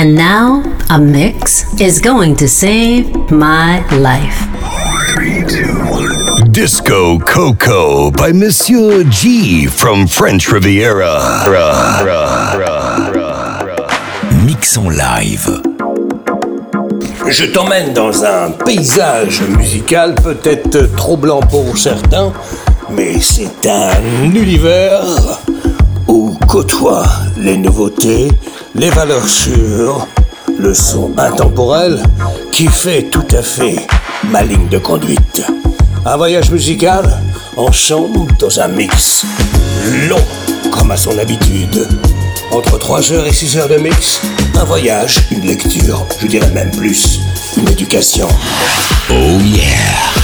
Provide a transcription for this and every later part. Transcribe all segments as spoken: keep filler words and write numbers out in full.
And now, a mix is going to save my life. Three, two, one. Disco Coco by Monsieur G from French Riviera. Ra, ra, ra, ra, ra. Mix en live. Je t'emmène dans un paysage musical peut-être trop blanc pour certains, mais c'est un univers où côtoient les nouveautés, les valeurs sûres, le son intemporel qui fait tout à fait ma ligne de conduite. Un voyage musical ensemble dans un mix long comme à son habitude. Entre trois heures et six heures de mix, un voyage, une lecture, je dirais même plus, une éducation. Oh yeah!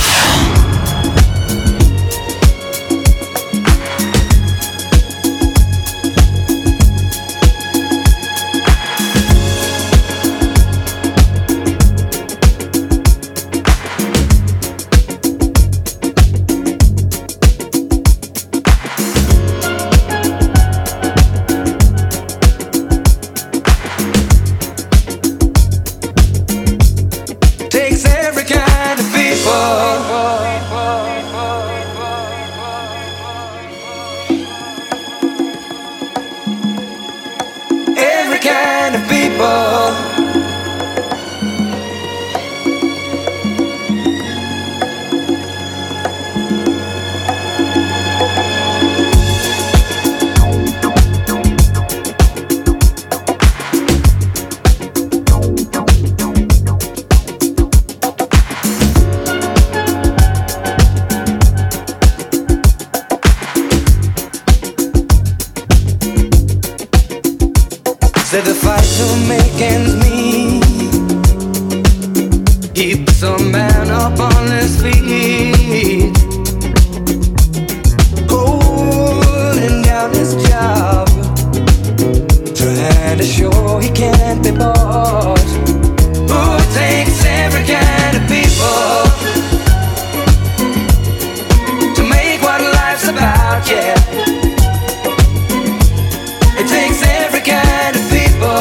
Said the fight to make ends meet keeps a man up on his feet, holding down his job, trying to show he can't be bought. Who takes every kind of people to make what life's about, yeah. It takes every kind of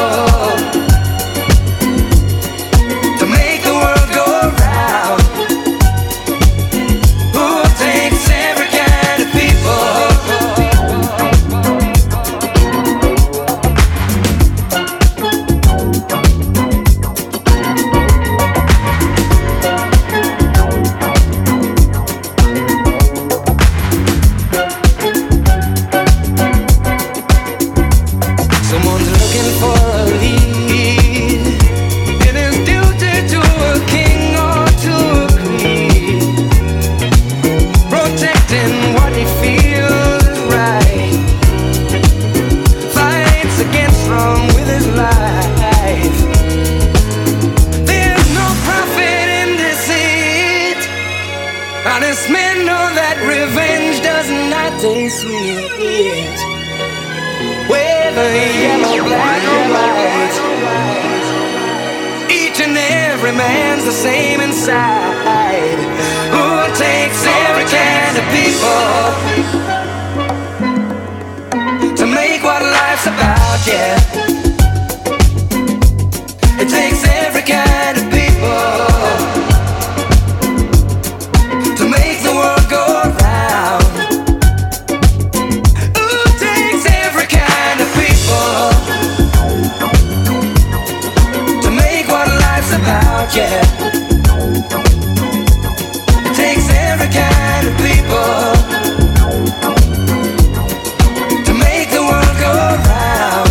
to make the world go round. Who takes every kind of Someone's looking for a lead. It is duty to a king or to a queen, protecting what he feels is right, fights against wrong with his life. There's no profit in deceit. Honest men know that revenge does not taste sweet. Whether yellow, black or white, each and every man's the same inside. Who takes every kind of people to make what life's about, yeah. It takes every kind of people to make the world go round. To make what life's about, yeah. It takes every kind of people to make the world go round.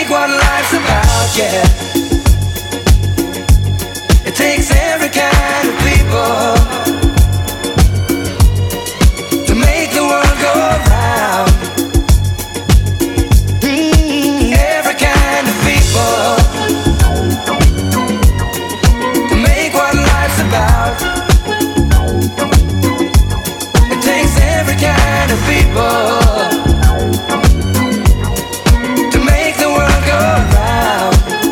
make what life's about, yeah. It takes every kind of people to make the world go round. Mm, every kind of people to make what life's about. It takes every kind of people to make the world go round.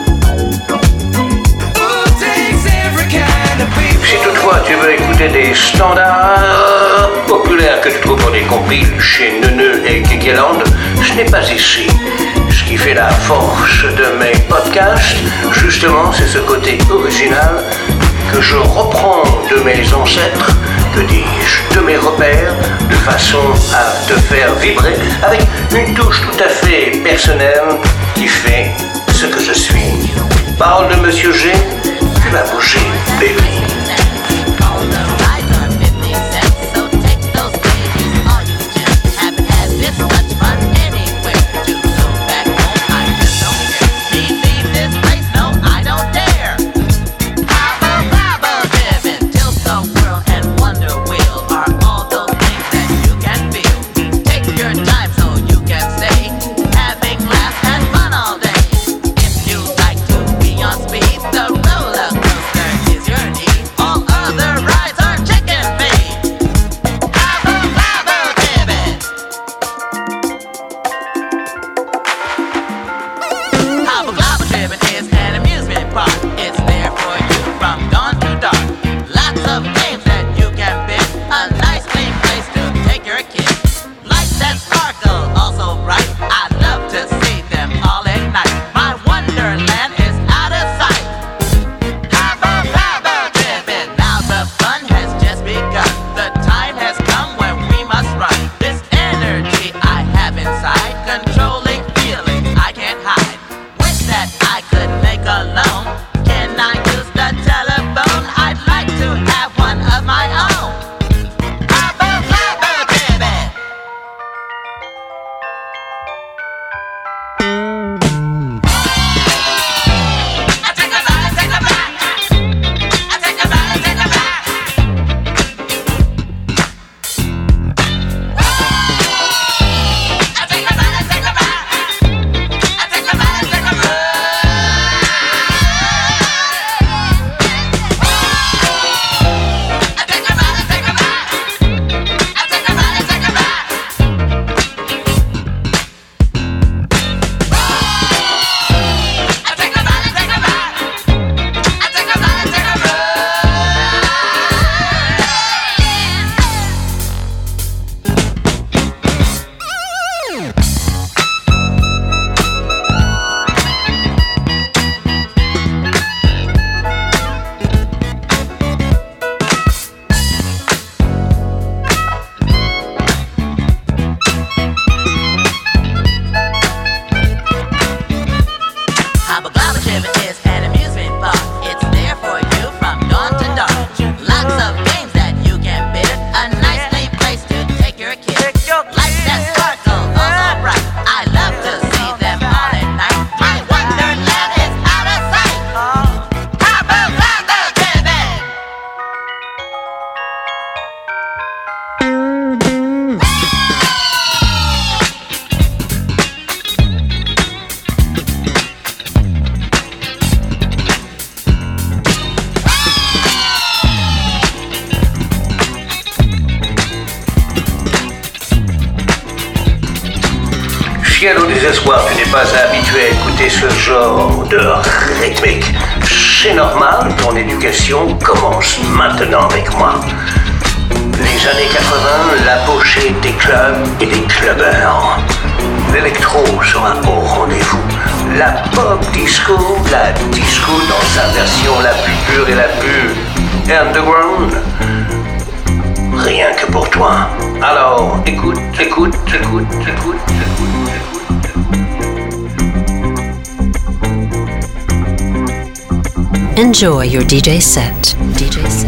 Ooh, it takes every kind of people. Si toutefois tu veux écouter des standards populaires que tu trouves pour des compiles chez Neuneu et Kekeland, ce n'est pas ici. Ce qui fait la force de mes podcasts, justement, c'est ce côté original que je reprends de mes ancêtres, que dis-je, de mes repères, de façon à te faire vibrer avec une touche tout à fait personnelle qui fait ce que je suis. Parole de Monsieur G, tu vas bouger, baby. Au désespoir, tu n'es pas habitué à écouter ce genre de rythmique. C'est normal, ton éducation commence maintenant avec moi. Les années quatre-vingts, l'apogée des clubs et des clubbers. L'électro sera au rendez-vous. La pop disco, la disco dans sa version la plus pure et la plus underground. Rien que pour toi. Alors, écoute, écoute, écoute, écoute, écoute, écoute. Enjoy your D J set. D J set.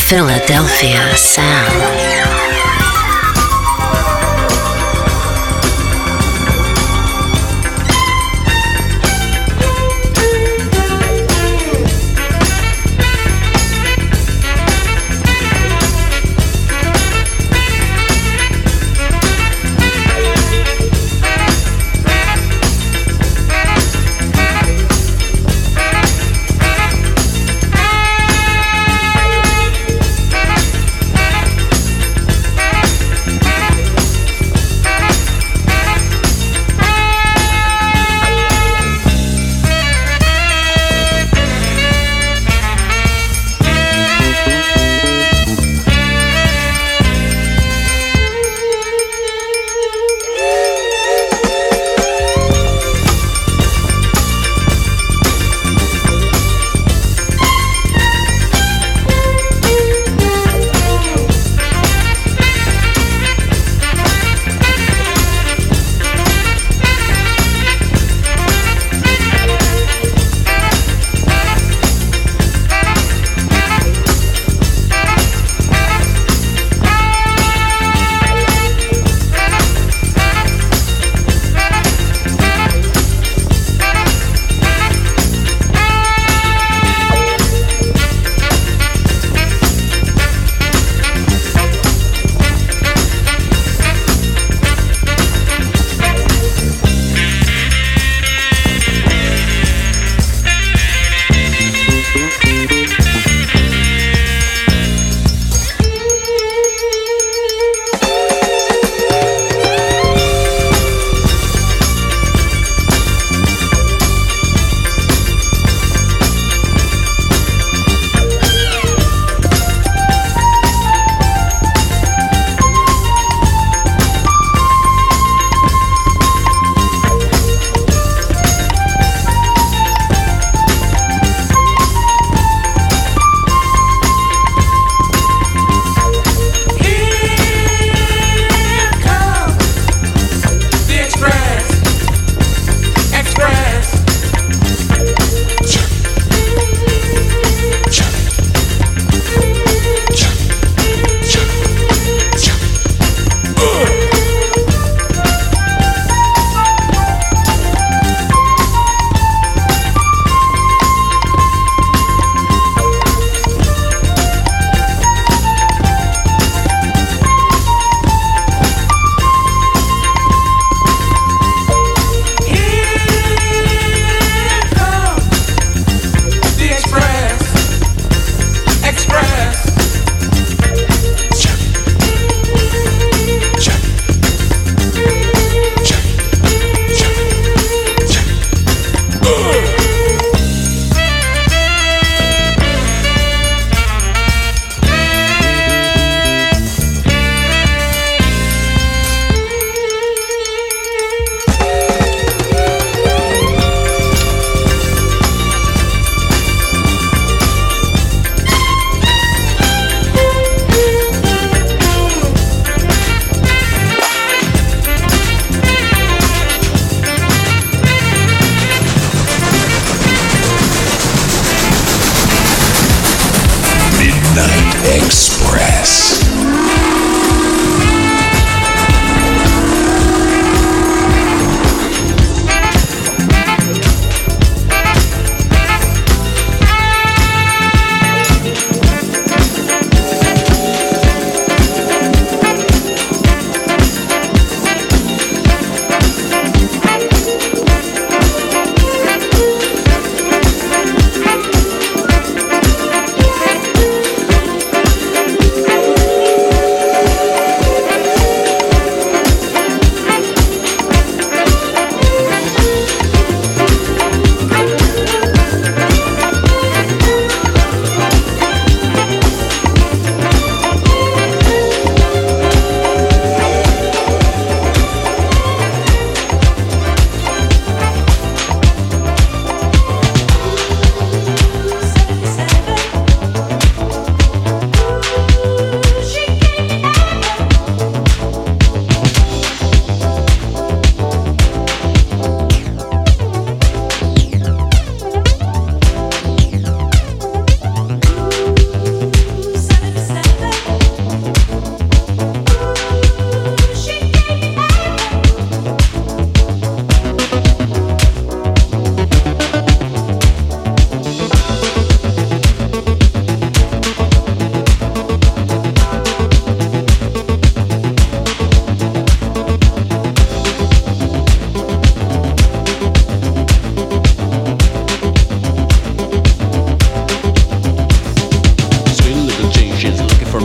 Philadelphia sound.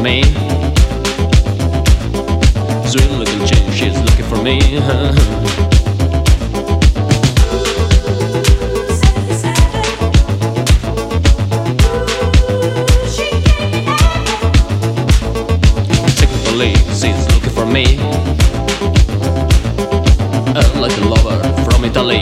me. Sweet little chick, she's looking for me. Technically, she's looking for me. Uh, like a lover from Italy.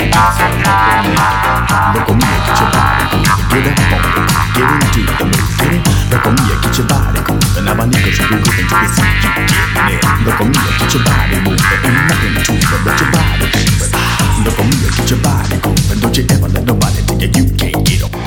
Look on me, get your body moving. Get up on it, get into the move. Get it? Look on me, get your body moving. Now my niggas will be moving till they see you getting it. Look on me, get your body moving. Ain't nothing to it but your body moving. Look on me, get your body moving. Don't you ever let nobody tell you you can't get on.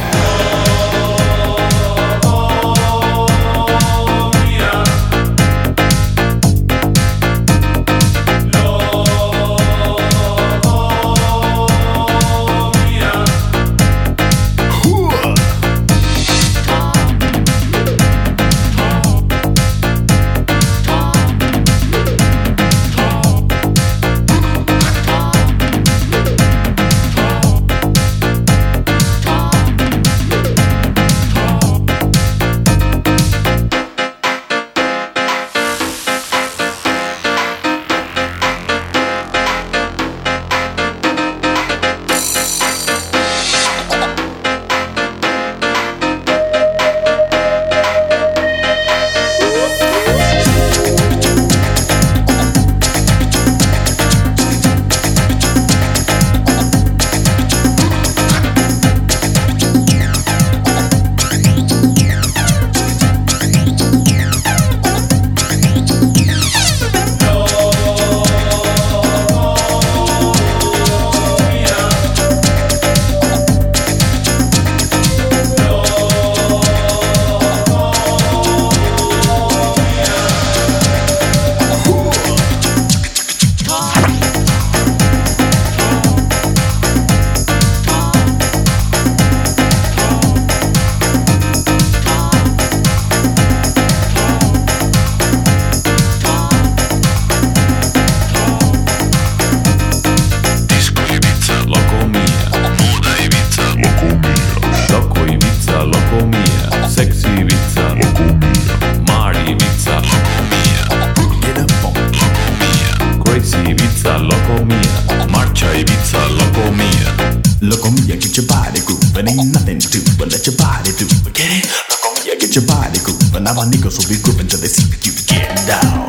Now my niggas will be grouping till they see you get down.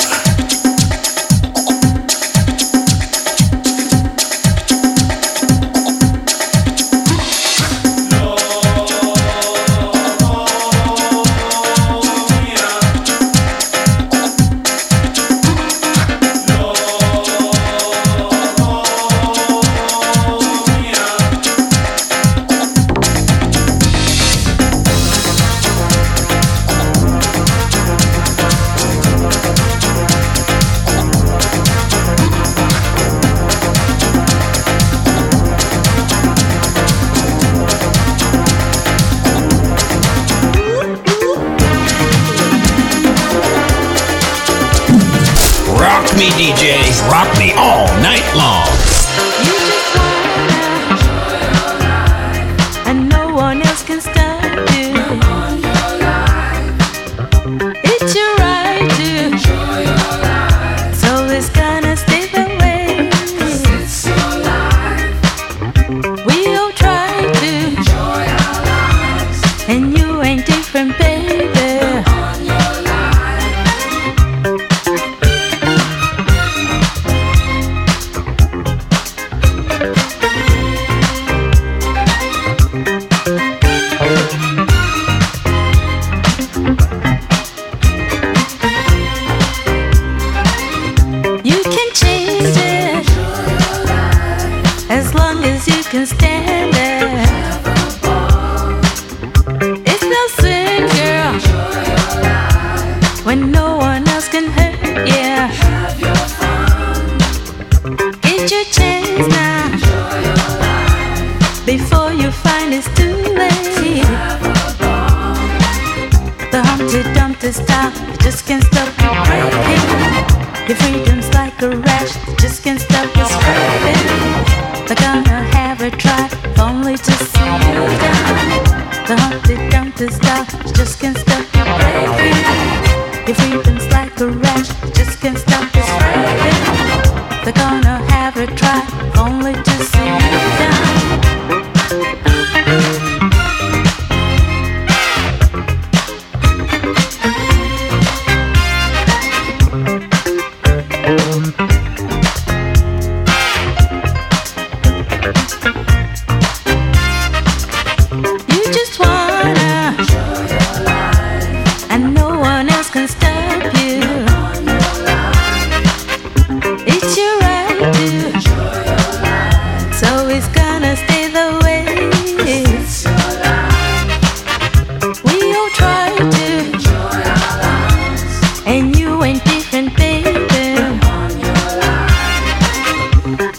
Me D Js rock me all night long. You just wanna enjoy your life, and no one else can stop you. On your life, it's your right to enjoy your life. So it's gonna stay that way. 'Cause it's your life. We all try to enjoy our lives, and you ain't different, baby. On your life. Can stand it. It's no sin, girl, when no one else can hurt you. Have your fun. Get your chance now, before you find it's too late. The Humpty Dumpty style, you just can't stop breaking. Your freedom's like a rash, you just can't stop it spreading. They're gonna have a try, only to see you down. The Humpty Dumpty style, you just can't stop it breaking. Your freedom's like a rash, you just can't stop it spreading. They're gonna have a try, only to see you down. We'll be right back. gonna stay the way. It's your life. We all try to enjoy our lives, and you ain't different, baby. On your life.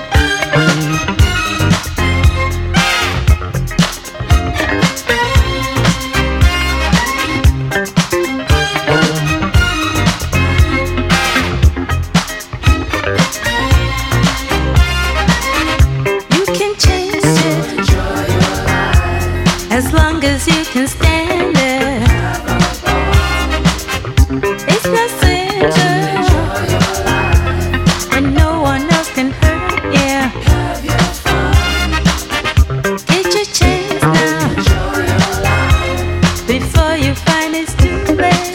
You can chase it, enjoy your life, as long as you can stand it. It's not center, enjoy your life, and no one else can hurt you. Have your fun. Get your chance now, enjoy your life, before you find it's too late.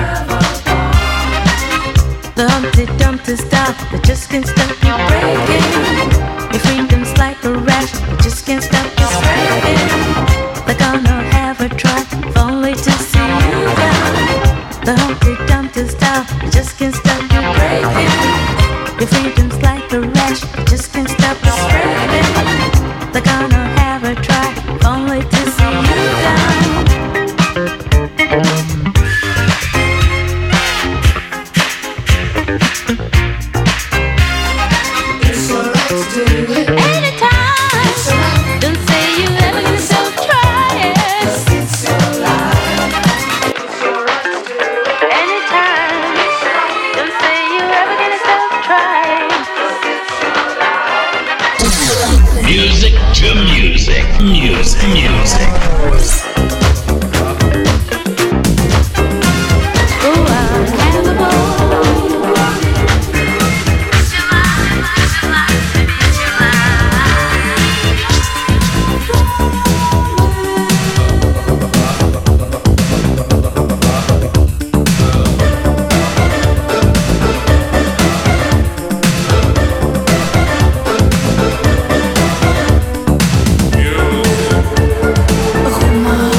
The Humpty Dumpty style that just can't stop you breaking. Your freedom's like a rash, it just can't stop you spreading. They're gonna have a try, if only to see you down. The Humpty Dumpty style that just can't stop you breaking. Your freedom's like a rash, it just can't stop you spreading. They're gonna have a try, if only to see you down. Anytime, don't say you ever gonna stop trying. Anytime, don't say you ever gonna stop trying. Music to music, music, music. Go out, have a ball. Oh my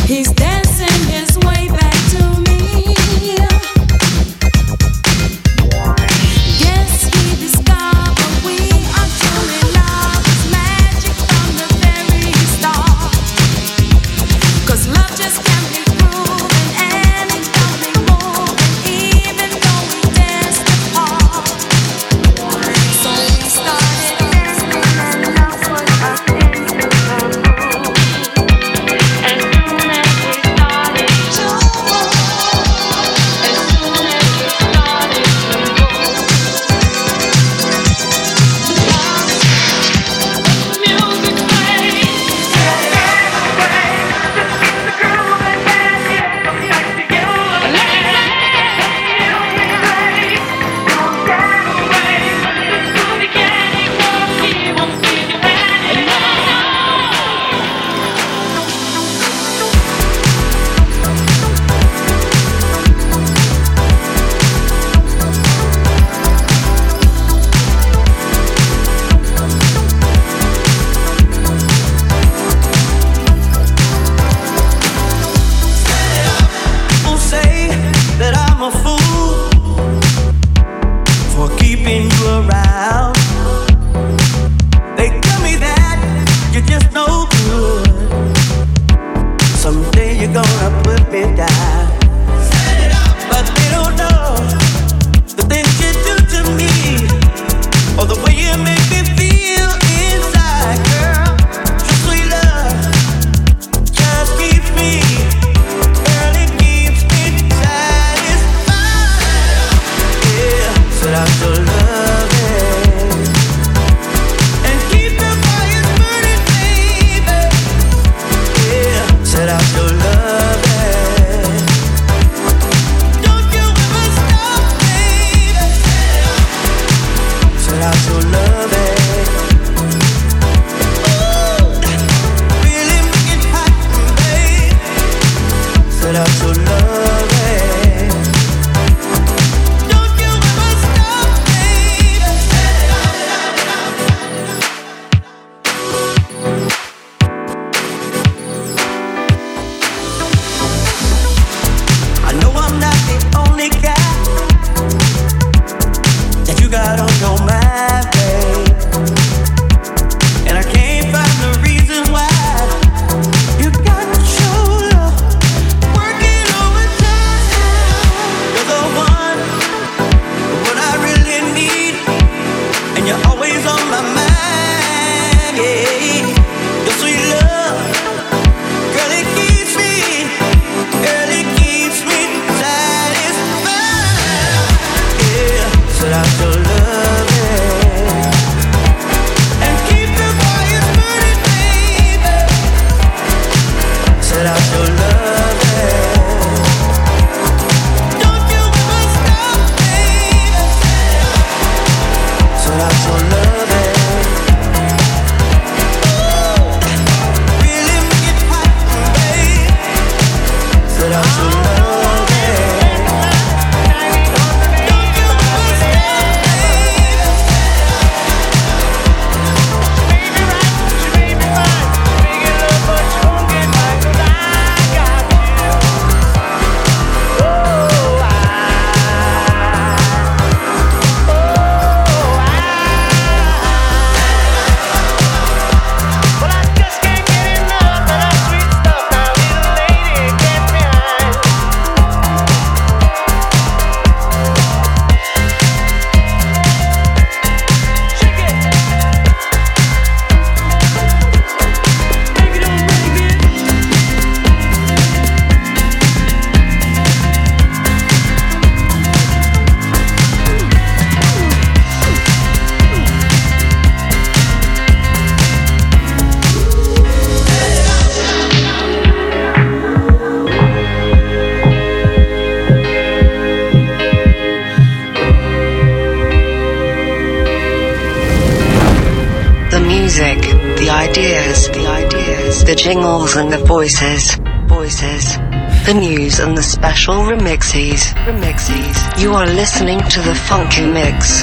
the jingles and the voices, voices, the news and the special remixes, remixes. You are listening to the Funky Mix.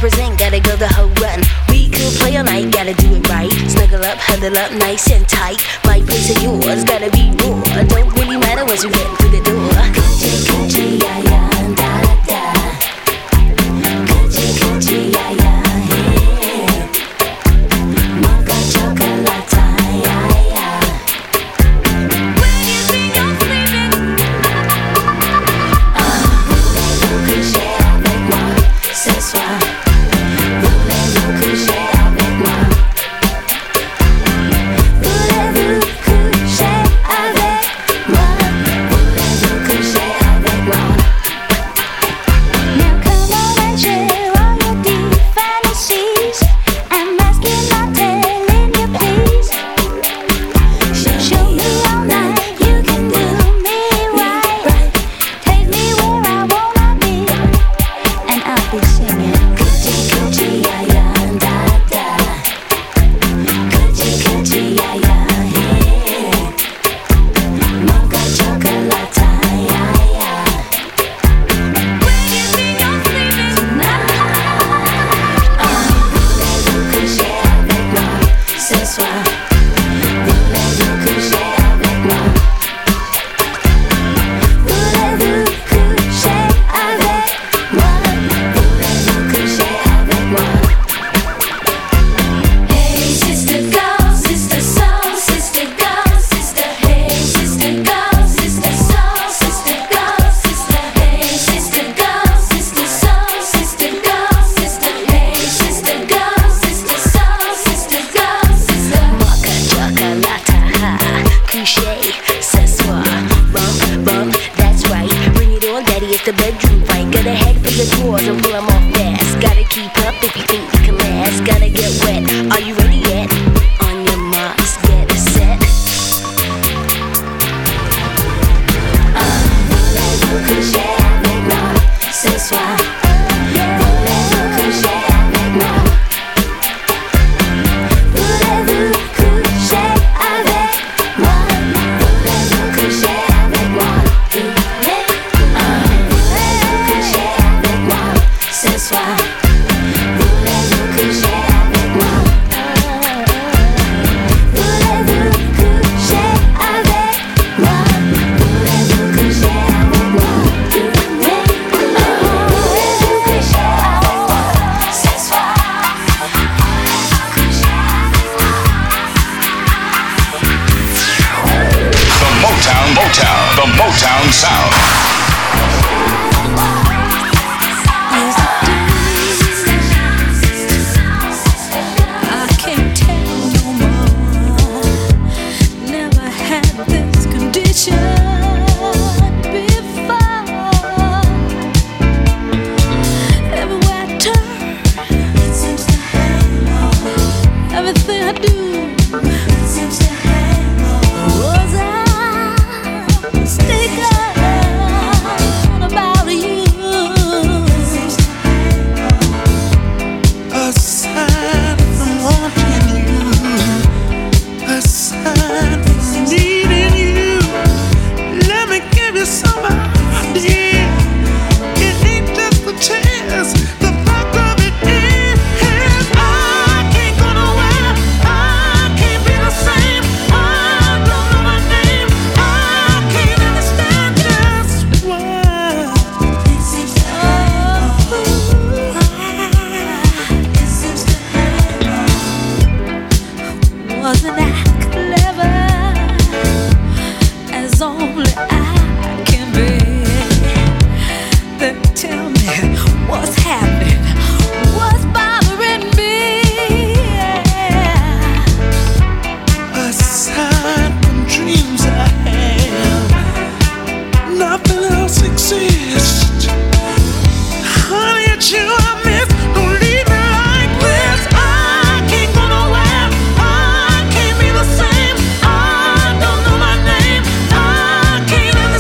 represent, gotta go the whole run. We could play all night, gotta do it right. Snuggle up, huddle up, nice and tight. My place or yours, gotta be raw. Don't really matter once you get through the door. Coochie, coochie, yeah, yeah, da, da. Coochie, coochie, yeah, yeah, yeah. Mocha chocolate, yeah, yeah. When you think you're sleeping, ah, voulez-vous coucher avec moi ce soir? Voulez-vous coucher avec moi? Voulez-vous coucher avec moi? Voulez-vous coucher avec moi? Now come on and share all your deep fantasies. I'm asking, not telling you, please. Show, show me all night, you can do me right. Take me where I wanna be, and I'll be singing coochie coochie yeah yeah da da. Coochie coochie yeah yeah yeah. Mocha chocolate yeah yeah. When you think you're sleeping tonight, ah, voulez-vous coucher avec moi ce soir? Voulez-vous coucher avec moi? Voulez-vous coucher avec moi? Voulez-vous coucher avec moi? Hey sister girl, sister soul, sister girl, sister. Hey sister girl, sister soul, sister girl, sister. Hey sister girl, sister soul, sister girl, sister. Hey sister girl, sister soul, sister girl, sister. Mocha chocolate, ha, coucher ce soir. Bump, bump, that's right. Bring it on, daddy, it's the bedroom fight. Gotta head for the drawers and pull them off fast. Gotta keep up if you think you can last. Gotta get wet, are you ready yet? On your marks, get set. Ah, voulez-vous coucher avec moi ce soir? Voulez-vous coucher avec moi? Voulez-vous coucher avec moi? Voulez-vous coucher avec moi? Ah, voulez-vous coucher avec moi ce soir? Voulez-vous coucher avec moi? Voulez-vous coucher avec moi? Voulez-vous coucher avec moi? Ah, voulez-vous coucher avec moi ce soir? The Motown, Motown, the Motown sound. I can't tell no more. Never had this condition before. Everywhere I turn, it seems to hang on. Everything I do, it seems to hang on. Was I mistaken about you? It seems to hang on. Aside from wanting you, aside from needing you, let me give you some idea. It ain't just a chance. The fact of it is, I can't go nowhere. I can't be the same. I don't know my name. I can't understand just why. It seems to hang on. It seems to hang on. Wasn't I clever as only I can be? Then tell me what's happening, what's bothering me? Aside from dreams I have, nothing else exists. Honey, it's you I miss. Don't leave me like this. I can't go nowhere. I can't be the same. I don't know my name. I can't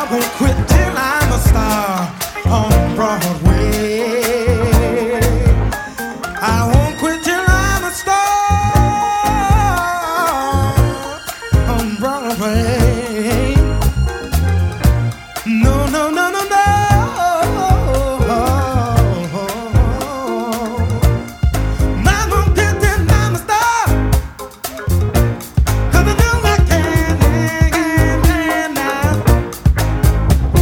won't quit till I'm a star on Broadway. I won't quit till I'm a star on Broadway. No, no, no, no, no. I won't quit till I'm a star, 'cause I know I can, can, can now.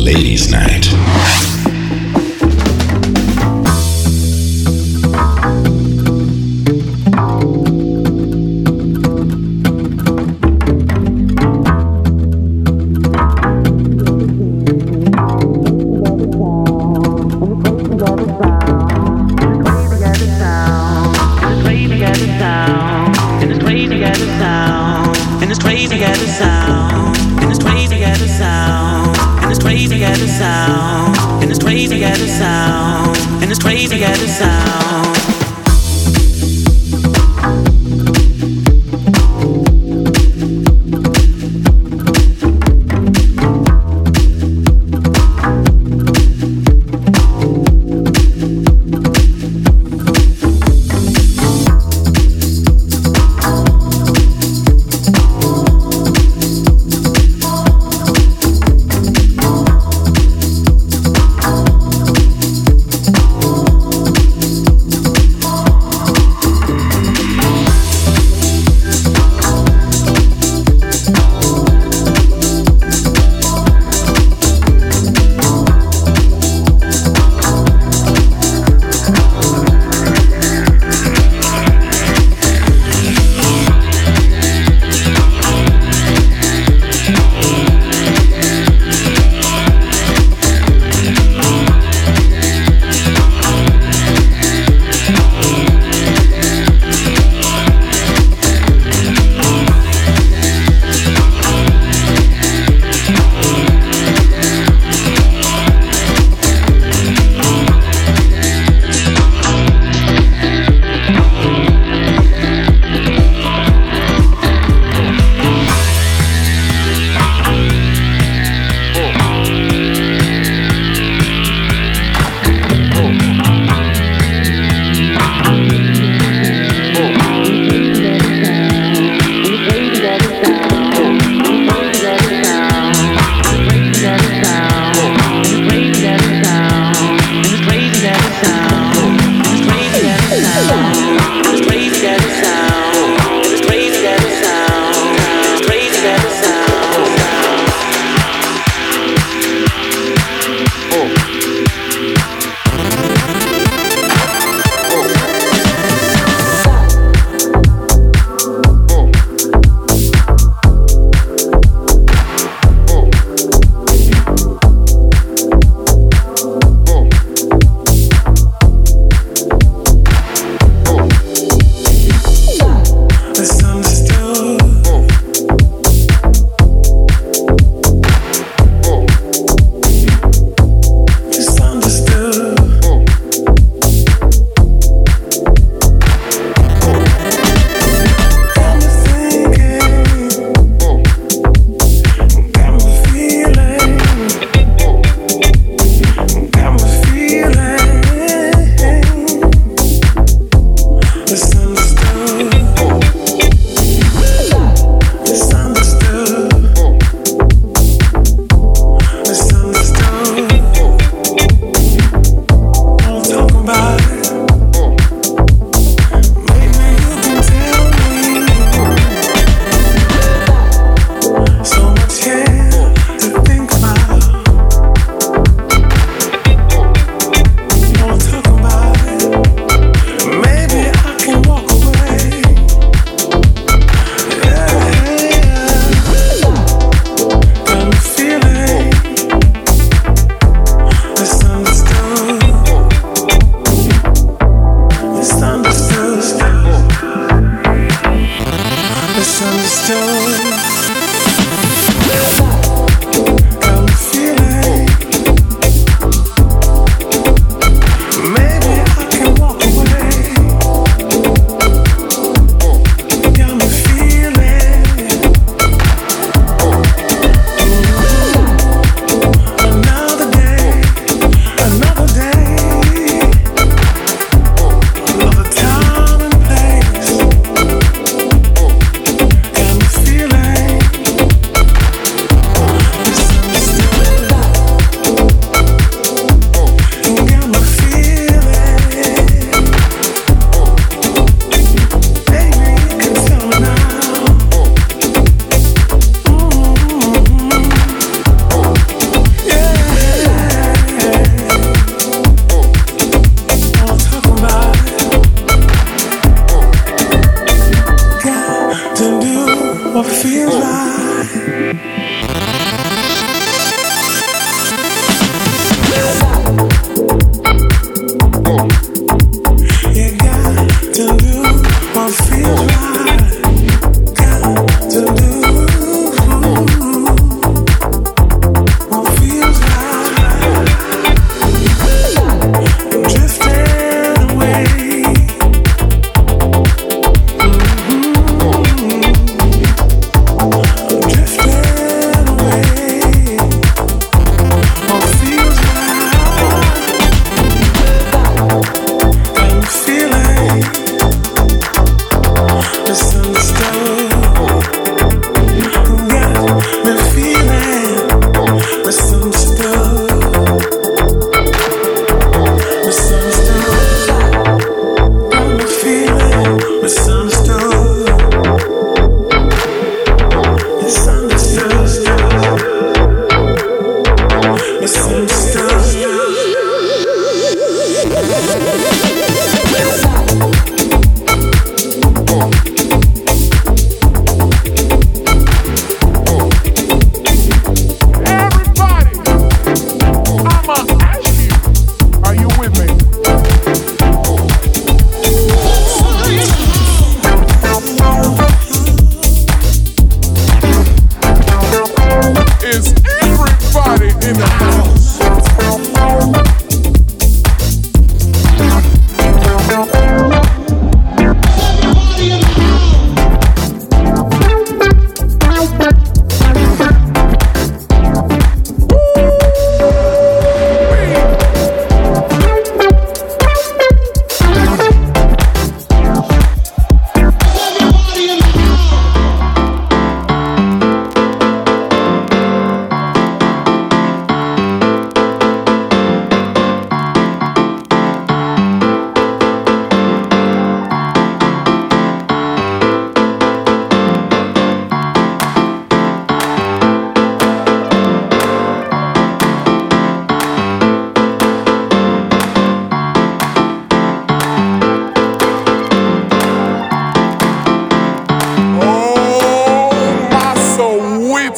ladies' night.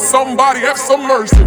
somebody have some mercy.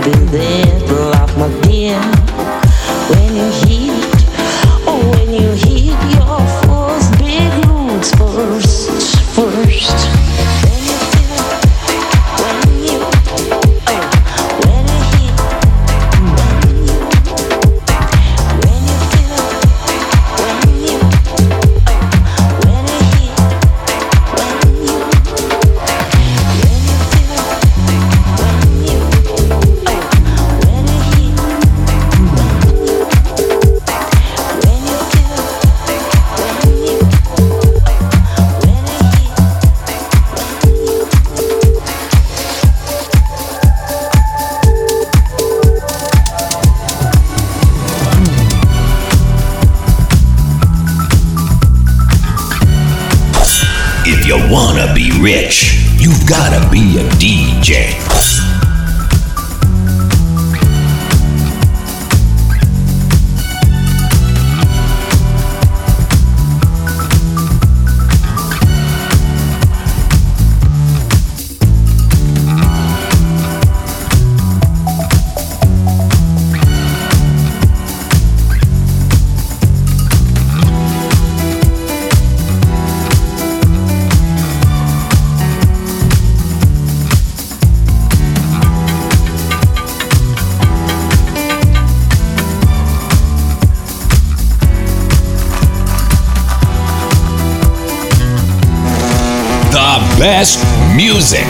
When you heat, oh, when you heat. you wanna be rich, you've gotta be a D J. Best music.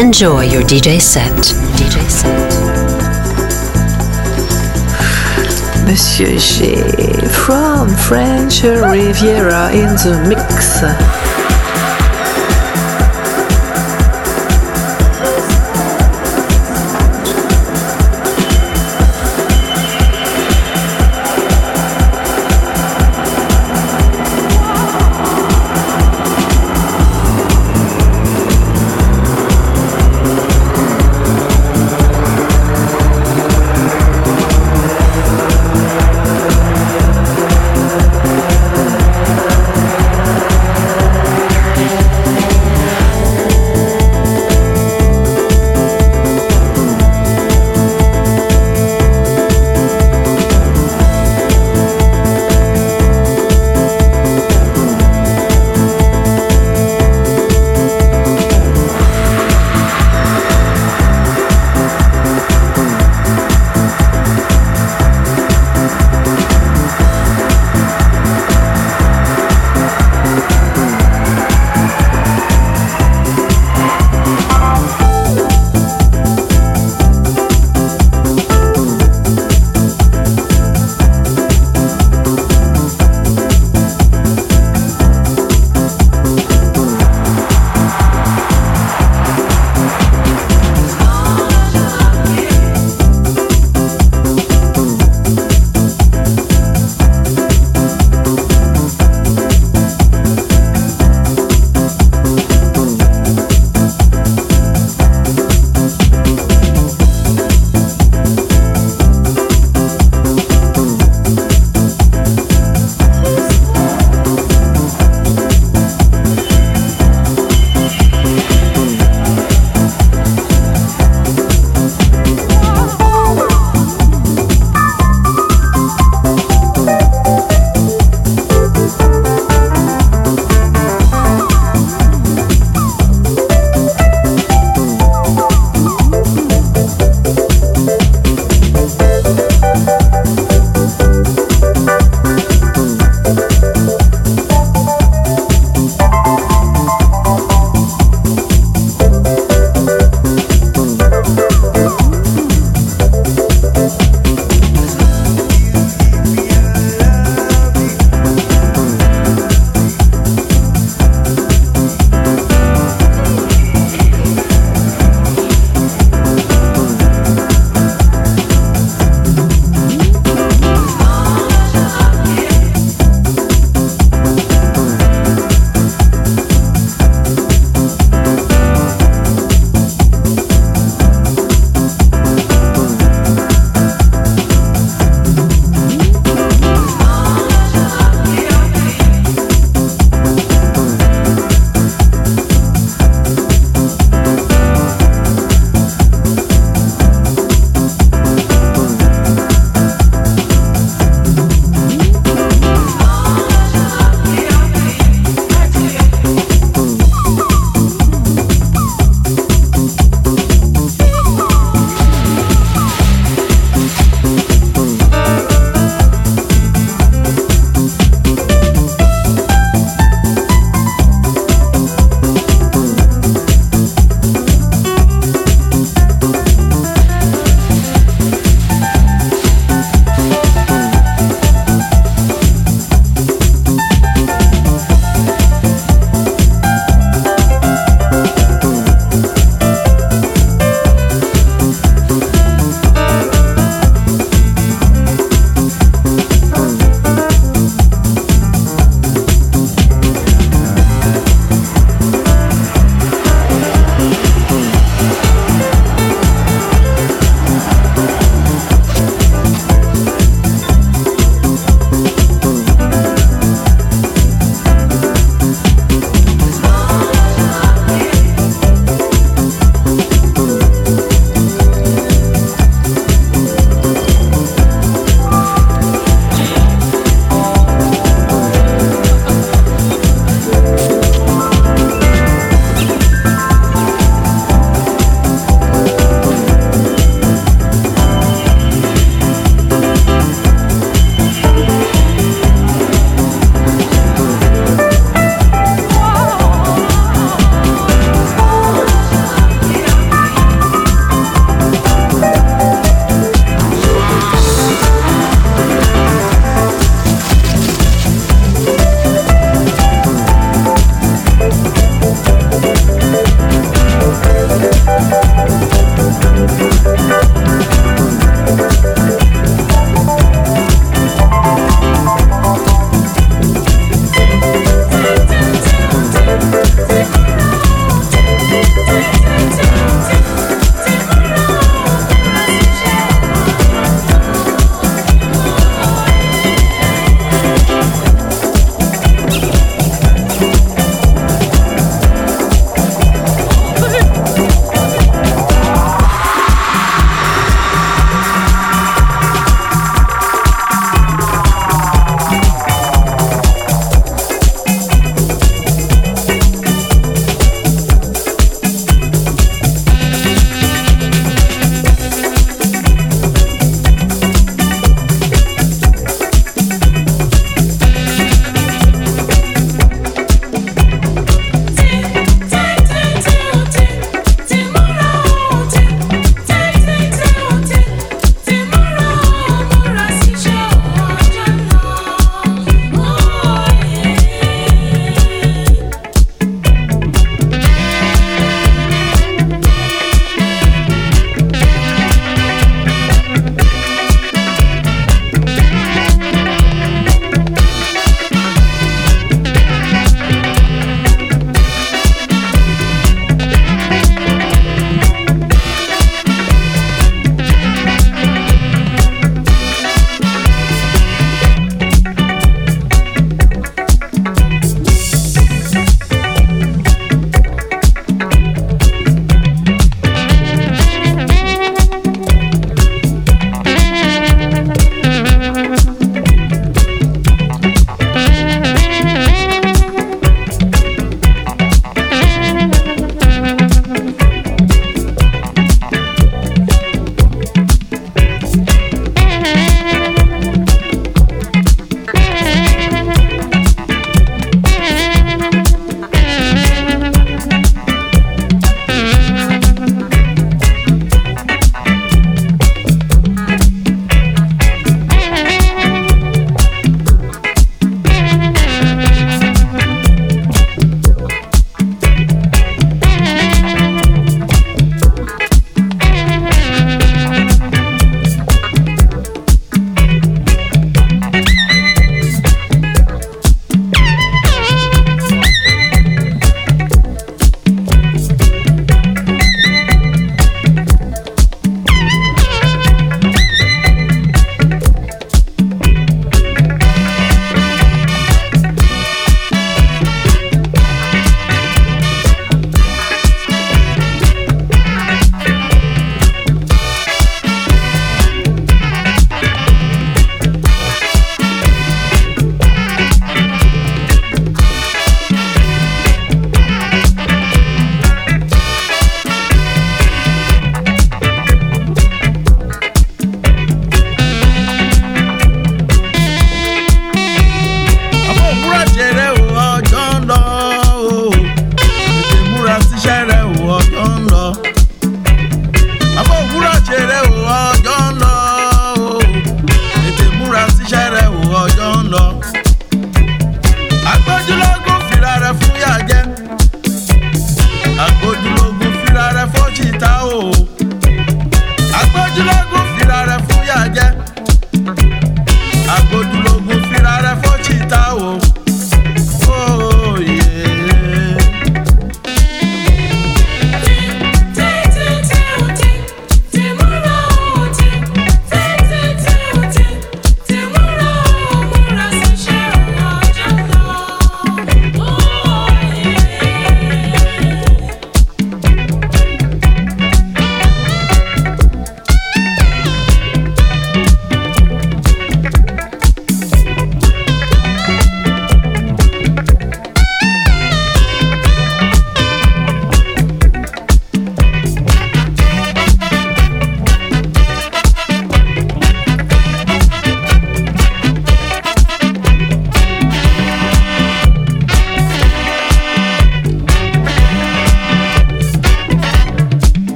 Enjoy your D J set. D J set. Monsieur G from French Riviera in the mix.